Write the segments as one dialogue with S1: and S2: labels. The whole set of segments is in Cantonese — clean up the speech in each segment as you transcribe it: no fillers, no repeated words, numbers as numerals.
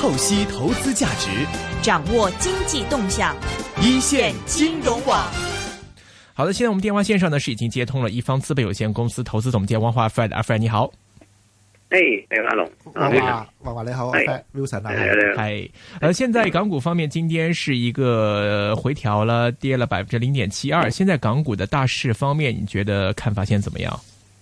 S1: 透析投資價值，
S2: 掌握經濟動向，
S1: 一線金融網。
S3: 好的，現在我們電話線上呢是已經接通了一方資本有限公司投資總監王華 Fred， 阿 Fred 你好。
S4: 你好，阿龍。
S5: 王華你好 ，Wilson 啊。
S3: 係，現在港股方面，今天是一個回調了，跌了0.72%。現在港股的大市方面，你覺得看法現在怎麼樣？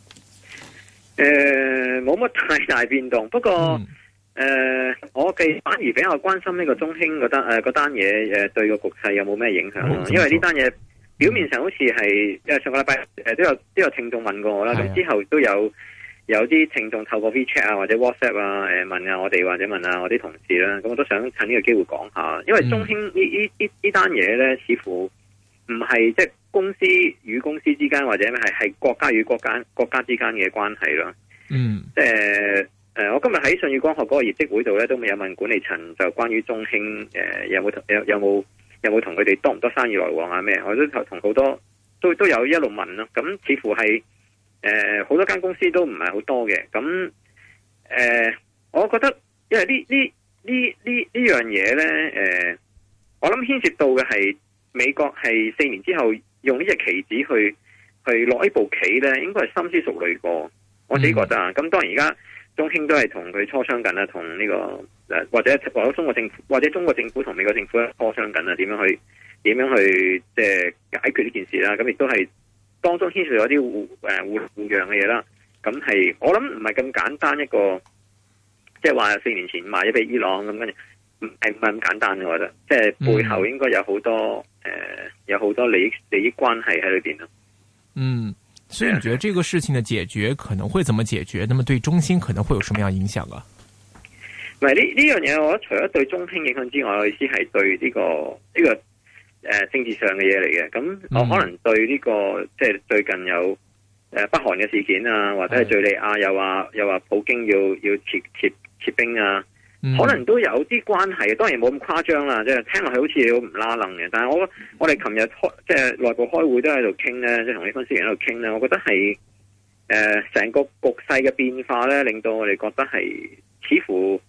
S4: 冇乜太大變動，不過我反而比較關心呢個中興嗰單嘢，對個局勢有冇咩影響咯？因為呢單嘢表面上好似係，因為上個禮拜都有聽眾問過我啦，咁之後都有啲聽眾透過 WeChat 啊或者 WhatsApp 啊問下我哋或者問下我啲同事啦，咁我都想趁呢個機會講下，因為中興呢單嘢咧，似乎唔係即係公司與公司之間或者係國家與國家之間嘅關係咯。即係我今日喺舜宇光學嗰個業績會度咧，都未有問管理層就關於中興有冇同佢哋多唔多生意來往啊咩？我都同好多都有一路問咯。咁似乎係好多間公司都唔係好多嘅。咁我覺得因為呢樣嘢咧，我諗牽涉到嘅係美國係4年之後用呢隻棋子去落呢部棋咧，應該係深思熟慮過。我自己覺得啊，咁當然而家中興都係同佢磋商緊啦，同呢個或者中國政府或者中國政府同美國政府磋商緊啦，點樣去即係解決呢件事啦。咁亦都係當中牽涉咗啲互讓嘅嘢啦。咁係我諗唔係咁簡單一個，即係話4年前賣咗俾伊朗咁，跟住唔係咁簡單嘅。我覺得即係背後應該有好多利益關係喺裏邊咯。
S3: 所以你覺得這個事情的解決可能會怎麼解決？那麼對中興可能會有什麼樣影響啊？
S4: 唔係呢樣嘢，我覺得除咗對中興影響之外，我意思係對呢個政治上嘅嘢嚟嘅。咁我可能對呢個即係最近有北韓嘅事件啊，或者係敘利亞又話普京要撤兵啊。可能都有啲關係，當然冇咁誇張啦，即係聽落去好似好唔拉楞嘅。但係我哋琴日即係內部開會都喺度傾咧，即係同啲分析員喺度傾咧。我覺得係成個局勢嘅變化咧，令到我哋覺得係似乎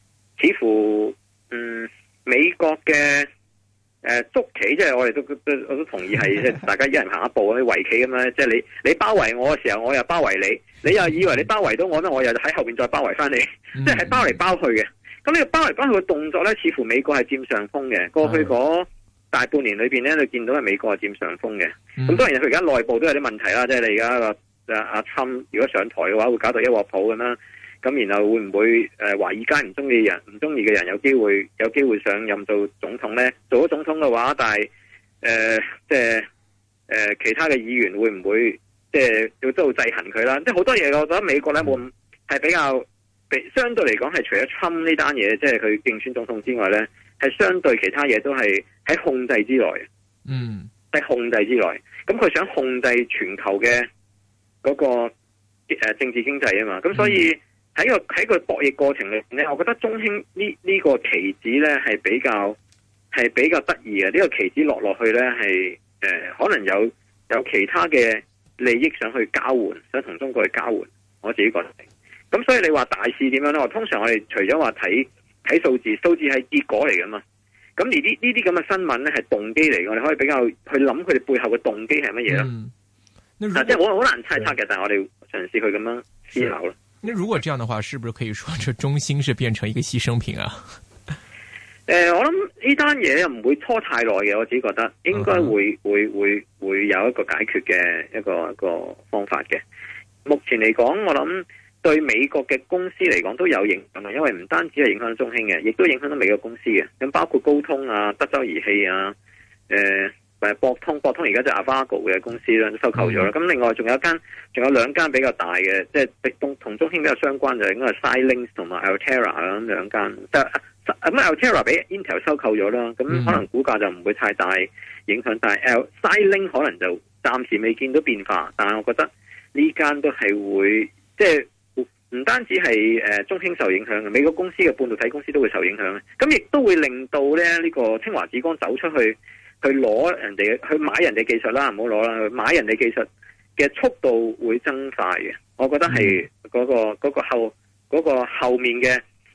S4: 美國嘅捉棋，即係我哋我都同意係即係大家一人行一步，好似圍棋咁樣。即係你包圍我嘅時候，我又包圍你，你又以為你包圍到我咧，我又喺後邊再包圍翻你，即係包嚟包去嘅。咁呢個包嚟包去嘅動作咧，似乎美國係佔上風嘅。過去嗰大半年裏邊咧，你見到係美國係佔上風嘅。咁當然佢而家內部都有啲問題啦，即係你而家阿侵如果上台嘅話，會搞到一鑊泡咁啦。咁然後會唔會華爾街唔中意嘅人有機會上任做總統咧？做咗總統嘅話，但係即係其他嘅議員會唔會即係要都制衡佢啦？即係好多嘢，我覺得美國咧冇係比較。相對嚟講係除咗侵呢單嘢，即係佢競選總統之外咧，係相對其他嘢都係喺控制之內。喺控制之內。咁佢想控制全球嘅嗰個政治經濟啊嘛。咁所以喺個博弈過程裏面咧，我覺得中興呢個棋子咧係比較得意嘅。呢個棋子落去咧係可能有其他嘅利益想去交換，想同中國去交換。我自己覺得。咁所以你話大市點樣咧？通常我哋除咗話睇數字係結果嚟噶嘛。咁而呢啲咁嘅新聞咧係動機嚟，我哋可以比較去諗佢哋背後嘅動機係乜嘢咯。即係好難猜測嘅，但係我哋嘗試去咁樣思考咯。
S3: 那如果這樣的話，是不是可以說這中興是變成一個犧牲品啊？
S4: 我諗呢單嘢又唔會拖太耐嘅，我自己覺得應該會有一個解決嘅一個方法嘅。目前嚟講，我諗。對美國嘅公司嚟講都有影響嘅，因為唔單止係影響到中興嘅，亦都影響到美國公司嘅。咁包括高通啊、德州儀器啊、博通而家就 Avago 嘅公司啦，都收購咗啦。咁另外仲有兩間比較大嘅，即係同中興比較相關就應該係 Xilinx 同埋 Altera 啦，咁兩間。咁 Altera 俾 Intel 收購咗啦，咁可能股價就唔會太大影響，但係 Xilinx 可能就暫時未見到變化。但係我覺得呢間都係會即係。唔單止係中興受影響嘅，美國公司嘅半導體公司都會受影響嘅。咁亦都會令到咧呢個清華紫光走出去攞人哋去買人哋技術啦，唔好攞啦，買人哋技術嘅速度會增快嘅。我覺得係嗰個後面嘅，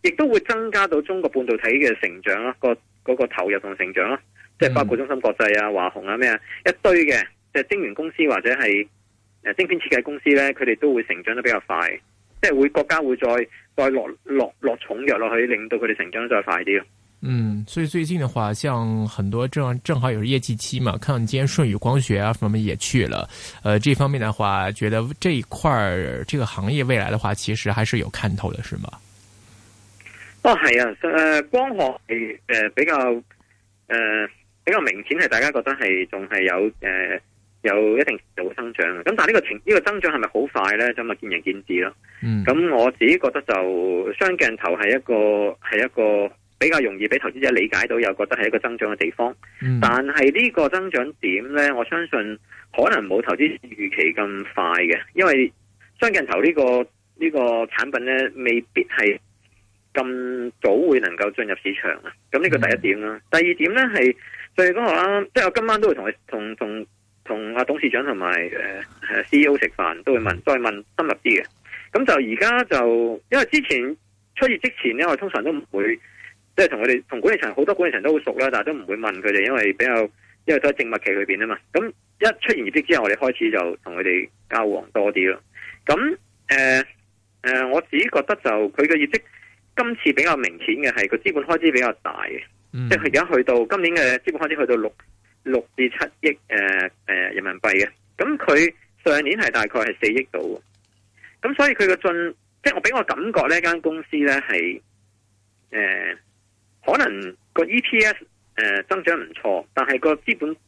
S4: 亦都會增加到中國半導體嘅成長啦，嗰個投入同成長啦，即係包括中芯國際啊、華虹啊咩啊一堆嘅，即係晶圓公司或者係晶片設計公司咧，佢哋都會成長得比較快，即係國家會再落重藥落去，令到佢哋成長得再快啲咯。
S3: 所以最近的話，像很多正好有業績期嘛，看今天舜宇光學啊什麼也去了，這方面的話，覺得這一塊這個行業未來的話，其實還是有看頭的，是嗎？
S4: 係啊，光學係比較明顯係大家覺得係仲係有一定程度嘅增長，咁但係呢個增長係咪好快咧？咁啊見仁見智咯。咁我自己覺得就雙鏡頭係一個比較容易俾投資者理解到，又覺得係一個增長嘅地方。但係呢個增長點咧，我相信可能冇投資預期咁快嘅，因為雙鏡頭呢個產品咧，未必係咁早會能夠進入市場啊。咁呢個第一點啦。第二點咧係最嗰個啦，即係我今晚都會同阿董事長同埋CEO 食飯，都會再問深入啲嘅。咁就而家就因為之前出業之前咧，我通常都唔會。即係同管理層好多管理層都好熟啦，但係都唔會問佢哋，因為都喺靜默期裏邊啊嘛。咁一出現業績之後，我哋開始就同佢哋交往多啲咯。咁我自己覺得就佢嘅業績今次比較明顯嘅係個資本開支比較大嘅，即係佢而家去到今年嘅資本開支去到6至7億人民幣嘅。咁佢上年係大概係4億度。咁所以佢嘅即係我俾我感覺呢間公司咧係可能個 EPS 增長唔錯，但係個資本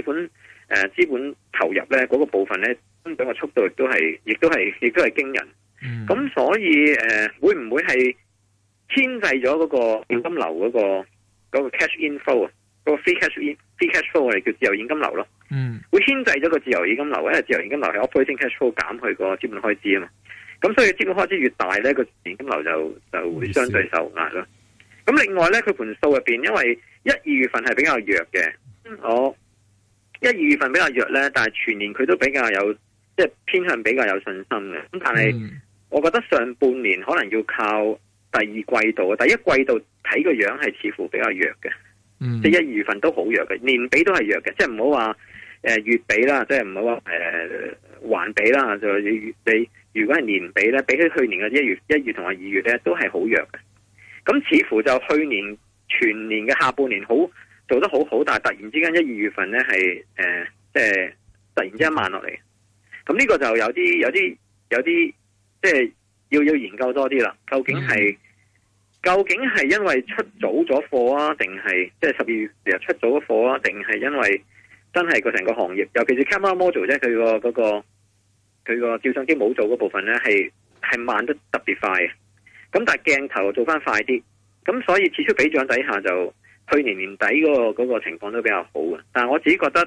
S4: 投入咧嗰個部分咧增長嘅速度亦都係驚人。咁所以會唔會係牽制咗嗰個現金流嗰個 cash inflow 啊？嗰個 free cash flow 我哋叫自由現金流咯。會牽制咗個自由現金流，因為自由現金流係 operating cash flow 減去個資本開支啊嘛。咁所以資本開支越大咧，個現金流就會相對受壓咯。咁另外咧，佢盤數入邊，因為1-2月份係比較弱嘅，我1-2月份比較弱咧，但係全年佢都比較有，即係偏向比較有信心嘅。咁但係我覺得上半年可能要靠第二季度，第一季度睇個樣係似乎比較弱嘅，即係1-2月份都好弱嘅，年比都係弱嘅，即係唔好話月比啦，即係唔好話環比啦，就你如果係年比咧，比起去年嘅1月同埋2月咧，都係好弱嘅。咁似乎就去年全年嘅下半年做得好好，但係突然之間1-2月份咧係即係突然之間慢落嚟。咁呢個就有啲即係要研究多啲啦。究竟係因為出早咗貨啊，定係即係12月出早咗貨啊，定係因為真係個成個行業，尤其是 camera module 即係佢個照相機模組嗰部分咧係慢得特別快嘅。咁但係鏡頭做翻快啲，咁所以此消彼長底下就去年年底嗰個情況都比較好嘅。但係我自己覺得，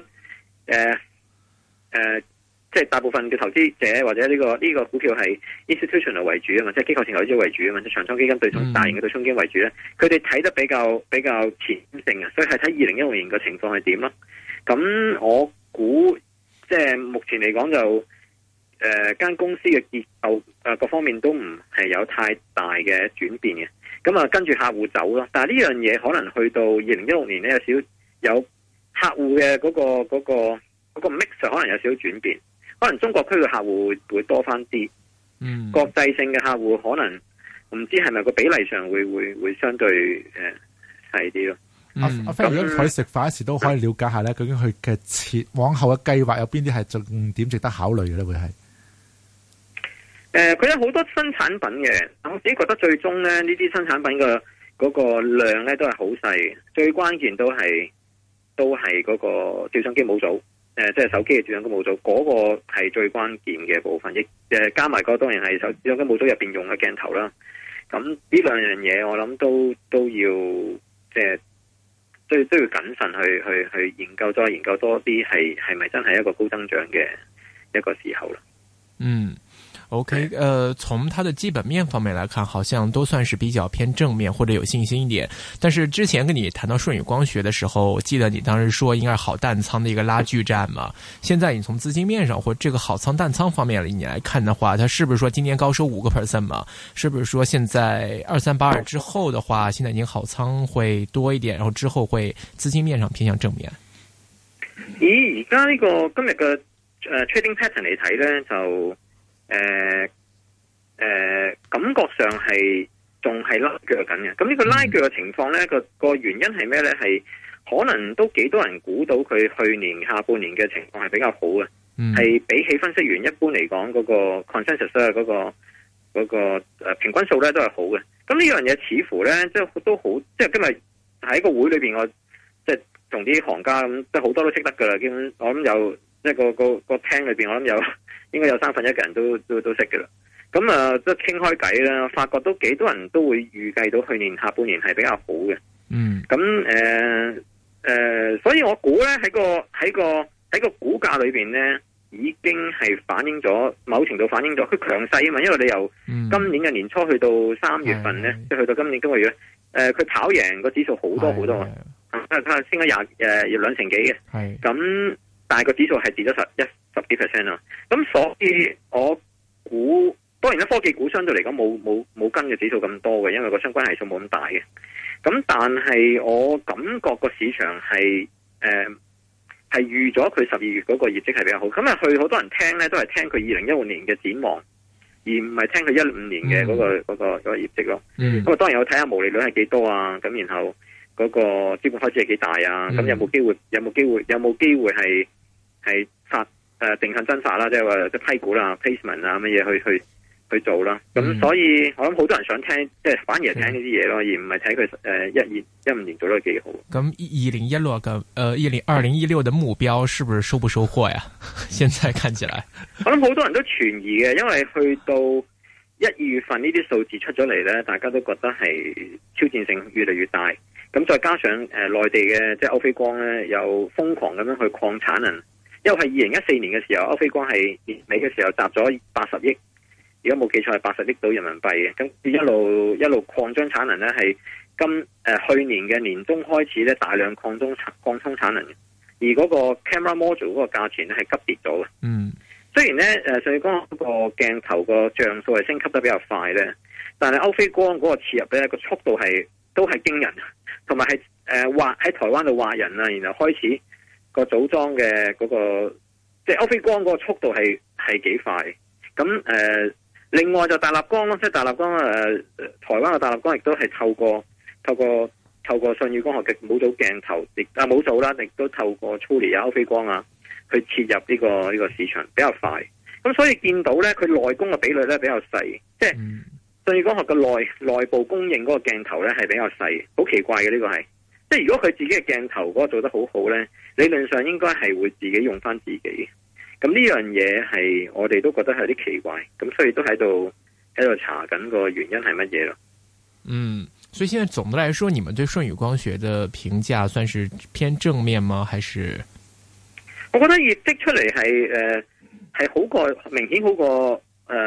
S4: 即係大部分嘅投資者或者呢個股票係 institutional 為主啊嘛，即係機構性投資者為主啊嘛，即係長倉基金大型嘅對沖基金為主咧，佢哋睇得比較前性啊，所以係睇2016年嘅情況係點咯。咁我估即係目前嚟講就。間公司嘅結構各方面都唔係有太大嘅轉變嘅，咁啊跟住客戶走咯。但係呢樣嘢可能去到2016年咧有客戶嘅嗰個 mix 可能有少少轉變，可能中國區嘅客戶會多翻啲，國際性嘅客戶可能唔知係咪個比例上會相對細啲咯。
S5: 阿飛，如果佢食飯時都可以了解下咧，究竟佢嘅往後嘅計劃有邊啲係重點值得考慮嘅咧？會係？
S4: 佢有好多新產品嘅，我自己覺得最終咧呢啲新產品嘅嗰個量咧都係好細，最關鍵都係嗰個照相機模組，即係手機嘅照相機模組嗰個係最關鍵嘅部分，亦加埋個當然係照相機模組入邊用嘅鏡頭啦。咁呢兩樣嘢我諗都要即係都要謹慎去研究，再研究多啲係咪真係一個高增長嘅一個時候啦。
S3: OK，從它的基本面方面來看，好像都算是比較偏正面或者有信心一點。但是之前跟你談到舜宇光學的時候，我記得你當時說應該是好淡倉的一個拉鋸戰嘛。現在你從資金面上或者這個好倉淡倉方面你來看的話，它是不是說今年高收5%嘛？是不是說現在2382之後的話，現在已經好倉會多一點，然後之後會資金面上偏向正面？
S4: 而家呢個今日嘅trading pattern 嚟睇咧，就感覺上係仲係拉鋸緊嘅。咁呢個拉鋸嘅情況咧，個原因係咩咧？係可能都幾多人估到佢去年下半年嘅情況係比較好嘅，係比起分析員一般嚟講嗰個 consensus 咧，嗰個平均數咧都係好嘅。咁呢樣嘢似乎咧，即係都好，即係今日喺個會裏邊，我即係同啲行家咁，即係好多都識得噶啦。基本我諗有即係個廳裏邊，我諗有應該有1/3嘅人都識噶啦。咁啊，即係傾開偈啦，發覺都幾多人都會預計到去年下半年係比較好嘅。咁所以我估咧喺個股價裏邊咧，已經係反映咗某程度反映咗佢強勢啊嘛。因為你由今年嘅年初去到3月份咧，即係去到今年今個月，佢跑贏個指數好多好多啊，升咗2成幾嘅。咁但係個指數係跌咗十幾%啦。咁所以我估。當然啦，科技股相對嚟講冇跟嘅指數咁多嘅，因為個相關係數冇咁大嘅。咁但係我感覺個市場係預咗佢12月嗰個業績係比較好。咁啊，去好多人聽咧，都係聽佢2015年嘅展望，而唔係聽佢15年嘅嗰個業績咯。咁啊，當然我睇下毛利率係幾多啊，咁然後嗰個資本開支係幾大啊，咁有冇機會係發定向增發啦，即係話即批股啦、placement 啊乜嘢去做啦。咁所以我諗好多人想聽，即係反而係聽呢啲嘢咯，而唔係睇佢15年做得幾好。
S3: 咁2016嘅2016的目標是不是收不收貨呀？現在看起來，
S4: 我諗好多人都存疑嘅，因為去到1、2月份呢啲數字出咗嚟咧，大家都覺得係挑戰性越嚟越大。咁再加上內地嘅即係歐菲光咧，又瘋狂咁樣去擴產能，因為係2014年嘅時候，歐菲光係年尾嘅時候集咗80億。如果冇記錯係80億到人民幣嘅，咁一路擴張產能咧，係去年嘅年中開始咧，大量擴充產能嘅，而嗰個 camera module 嗰個價錢咧係急跌咗嘅。雖然咧舜宇光嗰個鏡頭個像素係升級得比較快咧，但係歐菲光嗰個切入咧個速度都係驚人，同埋係喺台灣度畫人啊，然後開始個組裝嘅嗰個，即係歐菲光嗰個速度係幾快。咁另外就大立光咯，即係大立光台灣嘅大立光亦都係透過舜宇光學嘅模組鏡頭，模組啦，亦都透過 Truly 啊、歐菲光啊去切入呢個市場比較快。咁所以見到咧，佢內供嘅比率咧比較細，即係舜宇光學嘅內部供應嗰個鏡頭咧係比較細，好奇怪嘅呢個係。即係如果佢自己嘅鏡頭嗰個做得好好咧，理論上應該係會自己用翻自己。咁呢樣嘢係我哋都覺得係有啲奇怪，咁所以都喺度查緊個原因係乜嘢咯。
S3: 所以現在總的來說，你們對舜宇光學的評價算是偏正面嗎？還是？
S4: 我覺得業績出嚟係好過，明顯好過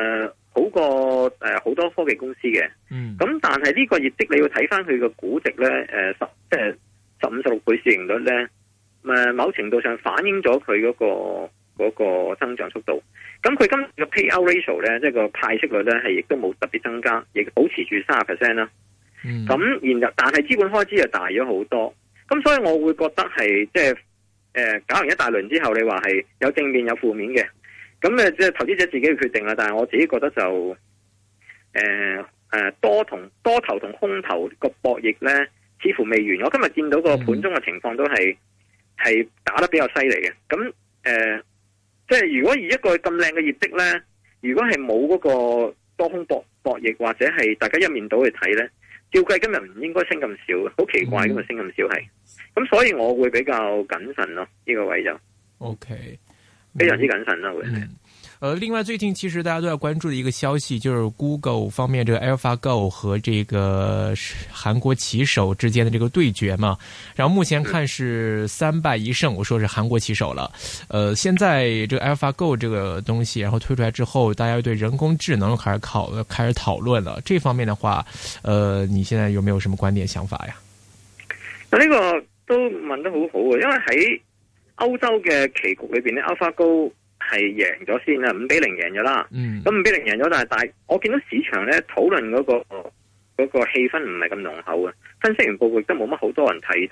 S4: 好多科技公司嘅。咁但係呢個業績你要睇翻佢個估值咧，即係15-16倍市盈率咧，某程度上反映咗佢嗰個增長速度。咁佢今次嘅 payout ratio 咧，即係個派息率咧，係亦都冇特別增加，亦保持住30% 啦。咁然後但係資本開支就大咗好多。咁所以我會覺得係即係搞完一大輪之後，你話係有正面有負面嘅。咁即係投資者自己去決定啦。但係我自己覺得就多頭同空頭個博弈咧，似乎未完。我今日見到個盤中嘅情況都係打得比較犀利嘅。咁即係如果以一個咁靚嘅業績咧，如果係冇嗰個多空博弈，或者係大家一面倒去睇咧，照計今日唔應該升咁少，好奇怪今日升咁少係。咁所以我會比較謹慎咯，呢個位就
S3: OK，
S4: 非常之謹慎啦會。
S3: 另外最近其實大家都要關注的一個消息，就是 Google 方面這個 AlphaGo 和這個韓國棋手之間的這個對決嘛。然後目前看是3敗1勝，我說是韓國棋手了。現在這個 AlphaGo 這個東西，然後推出來之後，大家對人工智能開始討論了。這方面的話，你現在有沒有什麼觀點想法呀？
S4: 呢個都問得好好啊，因為喺歐洲嘅棋局裏邊咧，AlphaGo係贏咗先啦，5-0贏咗啦。咁5-0贏咗，但係我見到市場咧討論嗰個氣氛唔係咁濃厚啊。分析完報告亦都冇乜好多人提到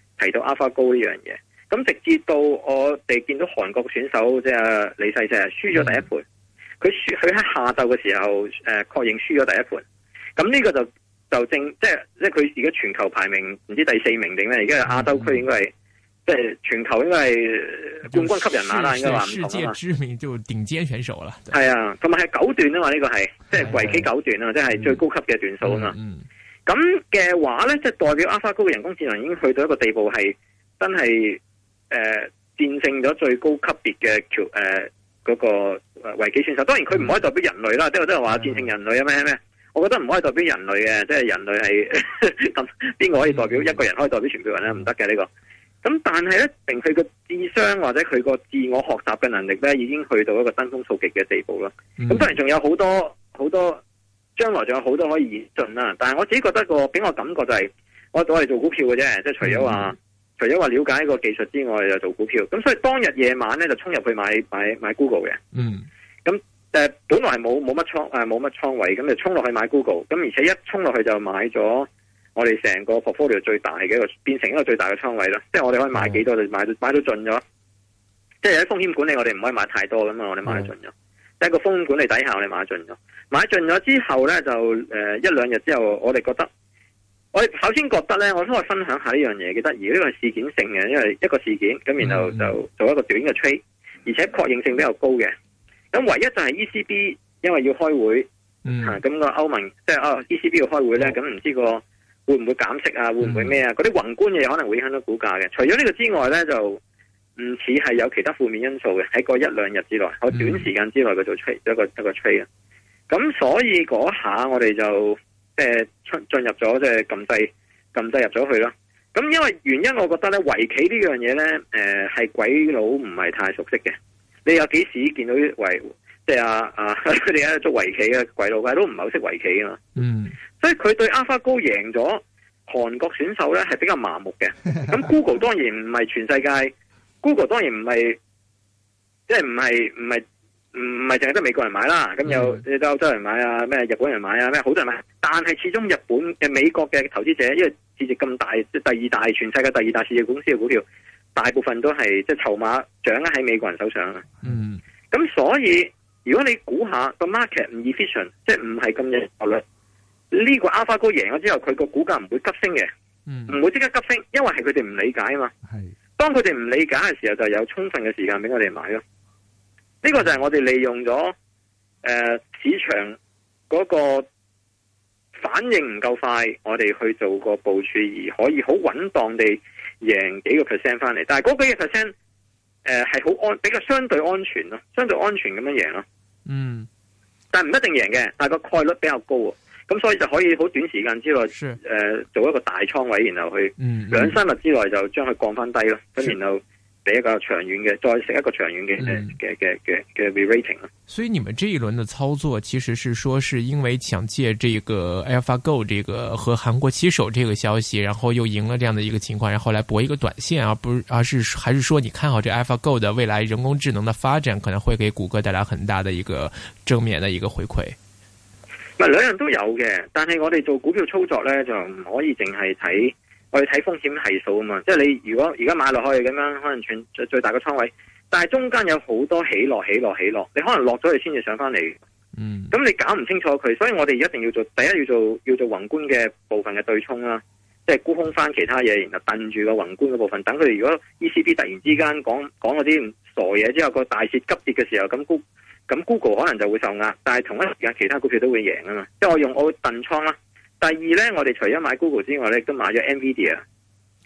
S4: AlphaGo 呢樣嘢。咁直至到我哋見到韓國選手即係李世石輸咗第一盤，佢喺下晝嘅時候確認輸咗第一盤。咁呢個就正即係佢而家全球排名唔知第4名定咩？而家亞洲區應該係。即係全球應該係冠軍級人馬啦，應該話唔同啊嘛。世界
S3: 知名就頂尖選手啦。
S4: 係啊，同埋係9段啊嘛，呢個係即係圍棋9段啊，即係最高級嘅段數啊嘛。咁嘅話咧，即係代表 AlphaGo 嘅人工智能已經去到一個地步，係真係戰勝咗最高級別嘅嗰個圍棋選手。當然佢唔可以代表人類啦，即係都係話戰勝人類啊咩？我覺得唔可以代表人類嘅，即係人類係咁邊個可以代表一個人可以代表全部人咧？唔得嘅呢個。咁但係咧，定佢個智商或者佢個自我學習嘅能力咧，已經去到一個登峰造極嘅地步啦。咁當然仲有好多，將來仲有好多可以演進啦。但係我自己覺得俾我感覺就係，我哋做股票嘅啫，即係除咗話了解個技術之外，就做股票。咁所以當日夜晚咧就衝入去買 Google 嘅。咁本來係冇乜倉位，咁就衝落去買 Google。咁而且一衝落去就買咗。我哋成個 portfolio 最大嘅變成一個最大嘅倉位啦，即係我哋可以買幾多就買到盡咗。即係喺風險管理，我哋唔可以買太多噶嘛，我哋買盡咗。即係個風險管理底下，我哋買盡咗。買盡咗之後咧，就一兩日之後，我哋首先覺得咧，我都可以分享下呢樣嘢，幾得意。呢個係事件性嘅，因為一個事件咁，然後就做一個短嘅 trade，而且確認性比較高嘅。咁唯一就係 ECB 因為要開會，咁個歐盟即係ECB 要開會咧，咁唔知會唔會減息啊？會唔會咩啊？嗰啲宏觀嘢可能會影響到股價嘅。除咗呢個之外咧，就唔似係有其他負面因素嘅。喺個一兩日之內，喺短時間之內佢做 trade 一個 trade 啊。咁所以嗰下我哋就即係進入咗即係撳掣入咗去啦。咁因為原因，我覺得咧圍棋呢樣嘢咧，係鬼佬唔係太熟悉嘅。你有幾時見到啲即係佢哋喺度捉圍棋嘅鬼佬唔係好識圍棋啊嘛。所以佢對 AlphaGo 贏咗韓國選手咧係比較麻木嘅。咁 Google 當然唔係全世界，Google 當然唔係即係唔係淨係得美國人買啦。咁有歐洲人買啊，咩日本人買啊，咩好多人買。但係始終日本嘅美國嘅投資者，因為市值咁大，即係第二大全世界第二大市值公司嘅股票，大部分都係即係籌碼掌握喺美國人手上啊。咁所以如果你估下個 market 唔 efficient， 即係唔係咁有效率。呢個 AlphaGo 贏咗之後，佢個股價唔會急升嘅，唔會即刻急升，因為係佢哋唔理解啊嘛。當佢哋唔理解嘅時候，就有充分嘅時間俾我哋買咯。呢個就係我哋利用咗市場嗰個反應唔夠快，我哋去做個部署，而可以好穩當地贏幾個 percent 翻嚟。但係嗰幾個 percent 係好比較相對安全咯，相對安全咁樣贏咯。但係唔一定贏嘅，但係個概率比較高啊。咁所以就可以好短時間之內，做一個大倉位，然後去2-3日之內就將佢降翻低咯。咁然後俾一個長遠嘅，再食一個長遠嘅 re-rating 咯。
S3: 所以你們這一輪的操作，其實是說是因為想借這個 AlphaGo 這個和韓國棋手這個消息，然後又贏了這樣的一個情況，然後來博一個短線，還是說你看好這 AlphaGo 的未來人工智能的發展，可能會給谷歌帶來很大的一個正面的一個回饋。
S4: 兩樣都有嘅，但係我哋做股票操作咧，就唔可以淨係睇我哋睇風險係數啊嘛。即係你如果而家買落去咁樣，可能最大嘅倉位，但係中間有好多起落，你可能落咗去先至上翻嚟。咁你搞唔清楚佢，所以我哋一定要做第一要做宏觀嘅部分嘅對沖啦，即係沽空翻其他嘢，然後掟住個宏觀嘅部分。等佢哋如果 ECB 突然之間講嗰啲傻嘢之後，個大市急跌嘅時候，咁 Google 可能就會受壓，但係同一時間其他股票都會贏啊嘛。即係我會燉倉啦。第二咧，我哋除咗買 Google 之外咧，亦都買咗 Nvidia。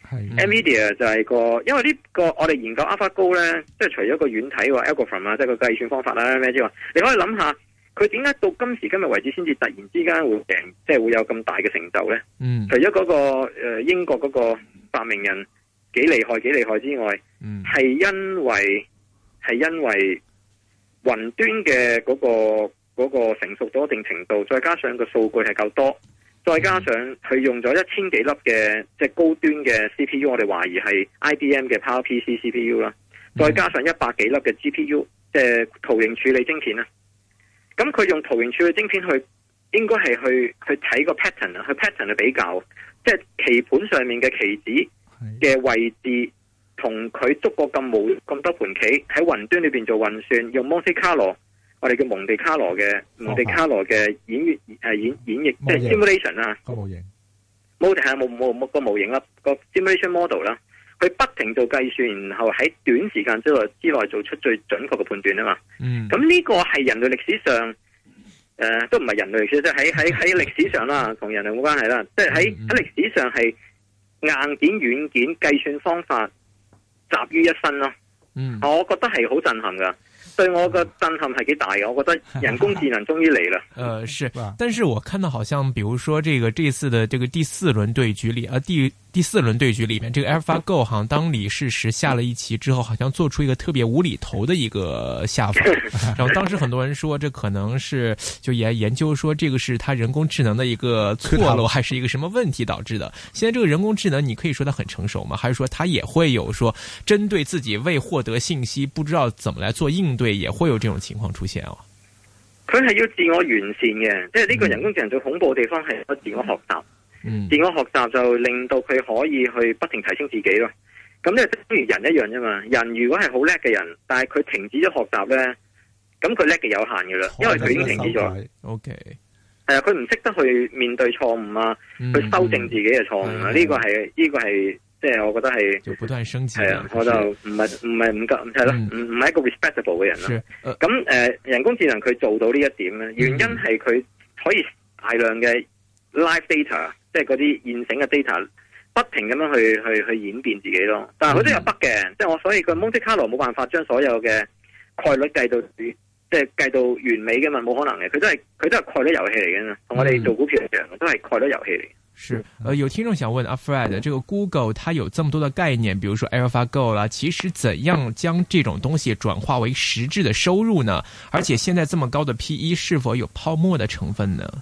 S4: NVIDIA 就係因為呢個我哋研究 AlphaGo 咧，即係除咗個軟體話 algorithm 啊，即係個計算方法啦咩之外，你可以諗下佢點解到今時今日為止先至突然之間會贏，即係會有咁大嘅成就咧？除咗嗰個英國嗰個發明人幾厲害之外，係因為雲端嘅嗰個成熟到一定程度，再加上個數據係夠多，再加上佢用咗1000幾粒嘅即係高端嘅 CPU， 我哋懷疑係 IBM 嘅 PowerPC CPU 啦，再加上100幾粒嘅 GPU， 即係圖形處理晶片啦。咁佢用圖形處理晶片去，應該係去睇個 pattern 啊，去 pattern 去比較，即係棋盤上面嘅棋子嘅位置，同佢捉過咁多盤棋喺雲端裏邊做運算，用 Monte Carlo， 我哋叫蒙地卡羅嘅演繹，即係 simulation 啦，個模型個模型啦，個 simulation model 啦，佢不停做計算，然後喺短時間之內做出最準確嘅判斷啊嘛。咁呢個係人類歷史上，都唔係人類歷史，即係喺歷史上啦，同人類冇關係啦，即係喺歷史上係硬件、軟件、計算方法集於一身咯。我覺得係好震撼噶。對我個震撼係幾大嘅，我覺得人工智能終於嚟了。
S3: 是，但是我看到好像，比如說這次的這個第四輪對局裏，第四輪對局裏面，這個 AlphaGo 好像當李世石下了一棋之後，好像做出一個特別無厘頭的一個下法。然後當時很多人說，這可能是就也研究說，這個是他人工智能的一個錯漏，還是一個什麼問題導致的？現在這個人工智能，你可以說它很成熟嗎？還是說它也會有說針對自己未獲得信息，不知道怎麼來做應對，也會有這種情況出現啊？
S4: 佢係要自我完善嘅，即係呢個人工智能最恐怖嘅地方係個自我學習。自我學習就令到佢可以去不停提升自己咯。咁咧，等於人一樣啫嘛。人如果係好叻嘅人，但係佢停止咗學習咧，咁佢叻嘅有限嘅啦，因為佢已經停止咗。OK，佢唔識得去面對錯誤啊，去修正自己嘅錯誤啊。呢個係即係我覺得係就不斷升級。係啊，我就唔夠係咯，唔係一個 respectable 嘅人咯。咁人工智能佢做到呢一點咧，原因係佢可以大量嘅 live data。即係嗰啲現成嘅 data 不停咁樣去演變自己咯，但係佢都有 bug 嘅，即係所以個 Monte Carlo 冇辦法將所有嘅概率計到完美嘅嘛，冇可能嘅，佢都係概率遊戲嚟嘅嘛，同我哋做股票一樣，都係概率遊戲嚟。
S3: 是，有聽眾想問阿 Fred， 這個 Google 它有這麼多的概念，比如說 AlphaGo 啦，其實怎樣將這種東西轉化為實質的收入呢？而且現在這麼高的 PE 是否有泡沫的成分呢？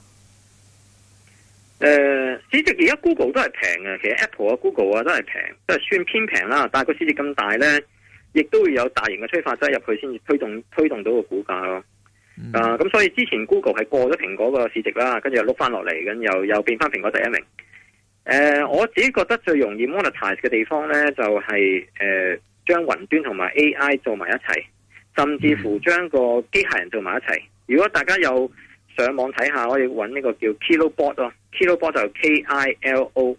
S4: 市值而家 Google 都係平嘅，其實 Apple 啊、Google 啊都係平，都係算偏平啦。但係個市值咁大咧，亦都會有大型嘅催化劑入去先至推動到個股價咯。咁所以之前 Google 係過咗蘋果個市值啦，跟住又碌翻落嚟，咁又變翻蘋果第一名。我自己覺得最容易 monetize 嘅地方咧，就係將雲端同埋 AI 做埋一齊，甚至乎將個機械人做埋一齊。如果大家有上網睇下，可以揾呢個叫 Kilobot 咯。Kilobot 就 KILOBOT，Kilobot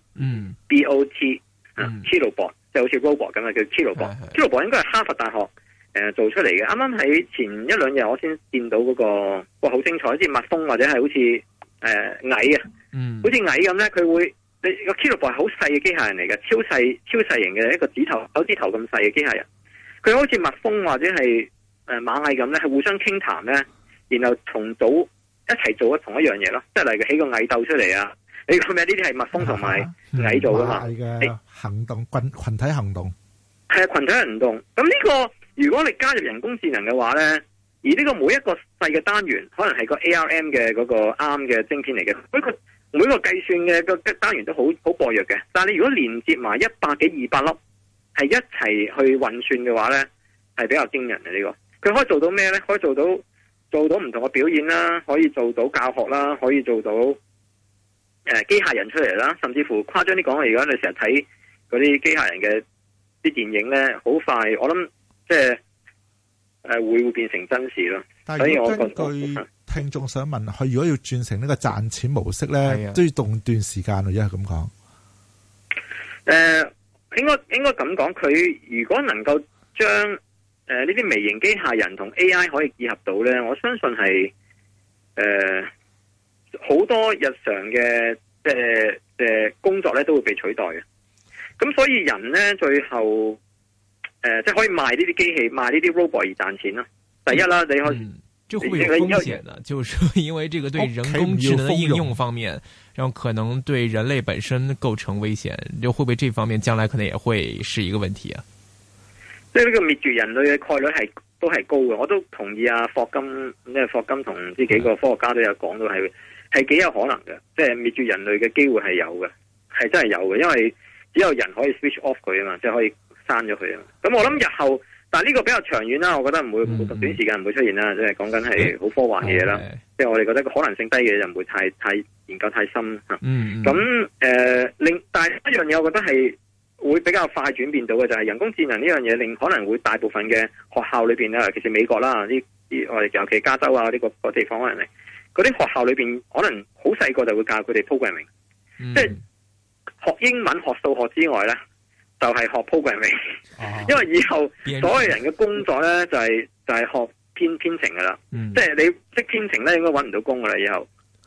S4: 就好似 robot 咁啊，叫 Kilobot。Kilobot 應該係哈佛大學做出嚟嘅。啱啱喺前一兩日我先見到嗰個，哇，好精彩！好似蜜蜂或者係好似蟻啊，好似蟻咁咧，佢會你個 Kilobot 係好細嘅機械人嚟嘅，超細型嘅一個手指頭咁細嘅機械人。佢好似蜜蜂或者係螞蟻咁咧，係互相傾談咧，然後重組。一齊做同一樣嘢咯，即係例如起個蟻竇出嚟啊！你講咩？呢啲係蜜蜂同埋蟻做噶嘛？
S5: 嘅行動群體行動
S4: 係啊，群體行動。咁呢個如果你加入人工智能嘅話咧，而呢個每一個細嘅單元可能係個 ARM 嘅嗰個 ARM 嘅晶片嚟嘅，每個計算嘅個單元都好薄弱嘅。但係你如果連接埋100幾200粒係一齊去運算嘅話咧，係比較驚人嘅呢個。佢可以做到咩咧？可以做到唔同嘅表演啦，可以做到教學啦，可以做到機械人出嚟啦，甚至乎誇張啲講，而家你成日睇嗰啲機械人嘅啲電影咧，好快我諗即係會變成真事咯。
S5: 所以我根據聽眾想問，佢如果要轉成呢個賺錢模式咧，都要動段時間咯，因為咁講。
S4: 應該咁講，佢如果能夠將呢啲微型機械人同 AI 可以結合到咧，我相信係好多日常嘅工作咧都會被取代嘅。 咁所以人咧最後即係可以賣呢啲機器，賣呢啲 robot 而賺錢啦。第一啦，你可以。
S3: 這會有風險的，就是說因為這個對人工智能的應用方面，然後可能對人類本身構成危險，就會不會這方面將來可能也會是一個問題啊？
S4: 即係呢個滅絕人類嘅概率都係高嘅，我都同意啊。霍金同呢幾個科學家都有講到係幾有可能嘅，即係滅絕人類嘅機會係有嘅，係真係有嘅，因為只有人可以 switch off 佢啊嘛，即係可以刪咗佢啊。咁我諗日後。但係呢個比較長遠啦，我覺得唔會短時間唔會出現啦，即係講緊係好科幻嘅嘢啦。即係我哋覺得個可能性低嘅就唔會太研究太深嚇。咁但係一樣嘢，我覺得係會比較快轉變到嘅就係人工智能呢樣嘢，令可能會大部分嘅學校裏邊咧，尤其是美國啦，我哋尤其加州啊呢個地方可能嗰啲學校裏邊，可能好細個就會教佢哋 programming，即係學英文、學數學之外咧。就係學 programming，因為以後所有人嘅工作咧就係學編程噶啦，即係你識編程咧應該搵唔到工噶啦以後，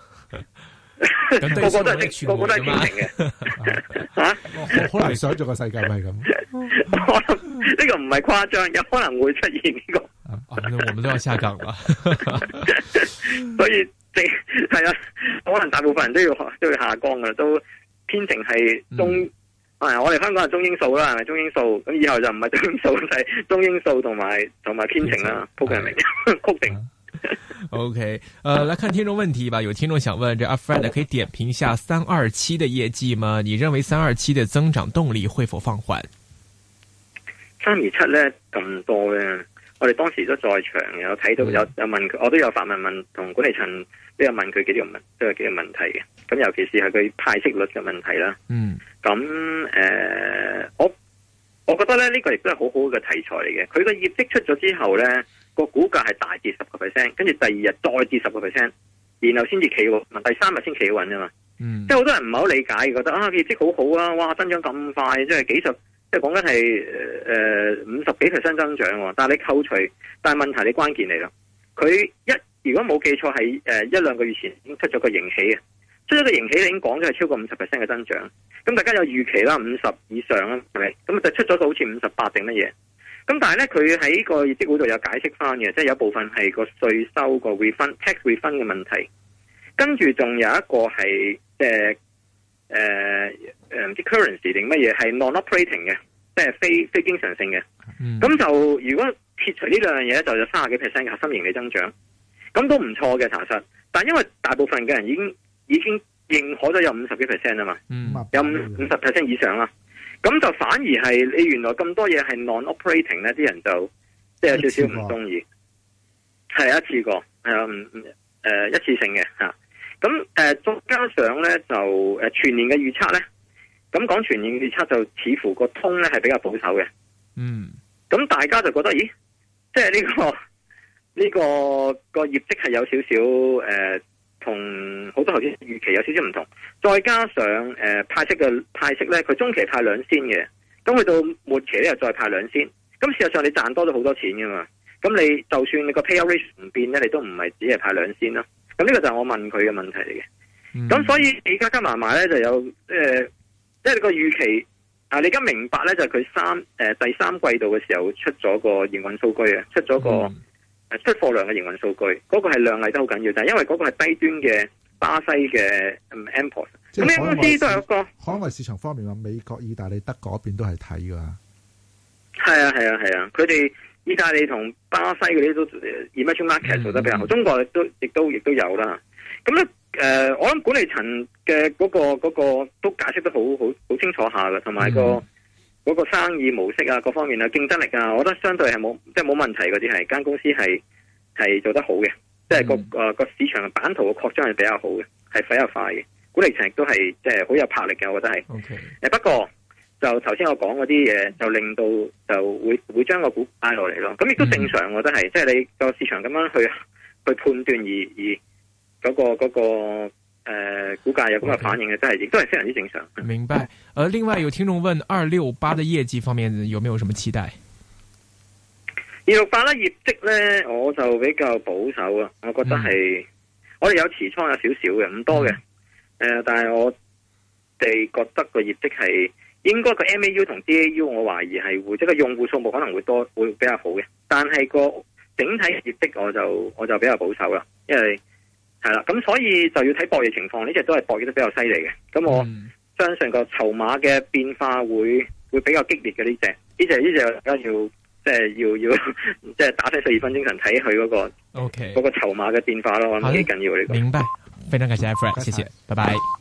S4: 個個都係編程嘅，吓，
S5: 我好難想像個世界係咁。
S4: 我諗呢個唔係誇張，有可能會出現呢個。
S3: 那我們都要下崗啦。
S4: 所以係啊，可能大部分人都要下崗噶啦，都編程係中。我哋香港係中英數啦，係咪中英數？咁以後就唔係中英數，就係中英數同埋編程啦，programming 曲定。
S3: OK，來看聽眾問題吧。有聽眾想問，這阿 Fred 可以點評下327的業績嗎？你認為327的增長動力會否放緩？327咧咁多咧，我哋當時都在場，有睇到有問佢，我都有發問同管理層都有問佢幾個問題嘅。咁尤其是係佢派息率嘅問題啦。咁我覺得咧呢個亦都係好好嘅題材嚟嘅。佢個業績出咗之後咧，個股價係大跌10%，跟住第二日再跌10%，然後先至企穩，第三日先企穩啫嘛。即係好多人唔係好理解，覺得業績好好啊，哇增長咁快，即係即係講緊係50幾%增長。但係你扣除，但係問題你關鍵嚟啦，佢如果冇記錯係1-2個月前已經出咗個盈喜嘅。出咗個盈喜，你已經講咗係超過50%嘅增長，咁大家有預期啦，50以上啦，係咪？咁就出咗個好似58定乜嘢？咁但係咧，佢喺個業績嗰度有解釋翻嘅，即係有部分係個稅收個 tax refund 嘅問題，跟住仲有一個係唔知 currency 定乜嘢係 non-operating 嘅，即係非經常性嘅。咁就如果撇除呢兩樣嘢，就有30幾% 嘅核心盈利增長，咁都唔錯嘅查實。但係因為大部分嘅人已經認可咗有50幾% 啊嘛，有50% 以上啦，咁就反而係你原來咁多嘢係 non-operating 咧，啲人就即係有少少唔中意，係一次過，一次性嘅吓。咁再加上咧就全年嘅預測咧，咁講全年嘅預測就似乎個通咧係比較保守嘅，咁大家就覺得咦，即係呢個業績係有少少同好多頭先預期有少少唔同，再加上派息咧，佢中期派2仙嘅，咁去到末期咧又再派2仙，咁事實上你賺多咗好多錢噶嘛，咁你就算你個 payout ratio 唔變咧，你都唔係只係派2仙啦，咁呢個就係我問佢嘅問題嚟嘅，咁所以你加埋咧就有即係你個預期你而家明白咧就係佢第三季度嘅時候出咗個營運數據啊，出咗個。出貨量嘅營運數據，嗰個係量麗都好緊要，但係因為嗰個係低端嘅巴西嘅import，咁呢間公司都有一個
S5: 海外市場方面話，美國、意大利、德國嗰邊都係睇噶。
S4: 係啊，佢哋意大利同巴西嗰啲都 emerging market 做得比較好，中國亦都有啦。咁咧我諗管理層嘅嗰個都解釋得好清楚下嘅，同埋嗰個生意模式啊，各方面啊，競爭力啊，我覺得相對係冇問題嗰啲係間公司係做得好嘅，即係個市場嘅版圖嘅擴張係比較好嘅，係比較快嘅。管理層亦都係即係好有魄力嘅，我覺得係。Okay. 不過就頭先我講嗰啲嘢，就令到就會將個股帶落嚟咯。咁亦都正常，我覺得係，即係你個市場咁樣去判斷而嗰個。股價有咁嘅反應嘅，真係亦都係非常之正常。
S3: 明白。另外有聽眾問268的業績方面有沒有什麼期待
S4: ？268咧業績咧，我就比較保守啊。我覺得係我哋有持倉有少少嘅，唔多嘅。但係我哋覺得個業績係應該個 MAU 同 DAU 我懷疑係會即係個用戶數目可能會比較好嘅，但係個整體業績我就比較保守啦，因為係啦，咁所以就要睇博弈情況，呢隻都係博弈得比較犀利嘅，咁我相信個籌碼嘅變化會比較激烈嘅呢隻大家要即係打醒12分精神睇佢嗰個嗰個籌碼嘅變化咯，我諗幾緊要呢個。
S3: 明白，非常感謝 Fred，謝謝，拜拜。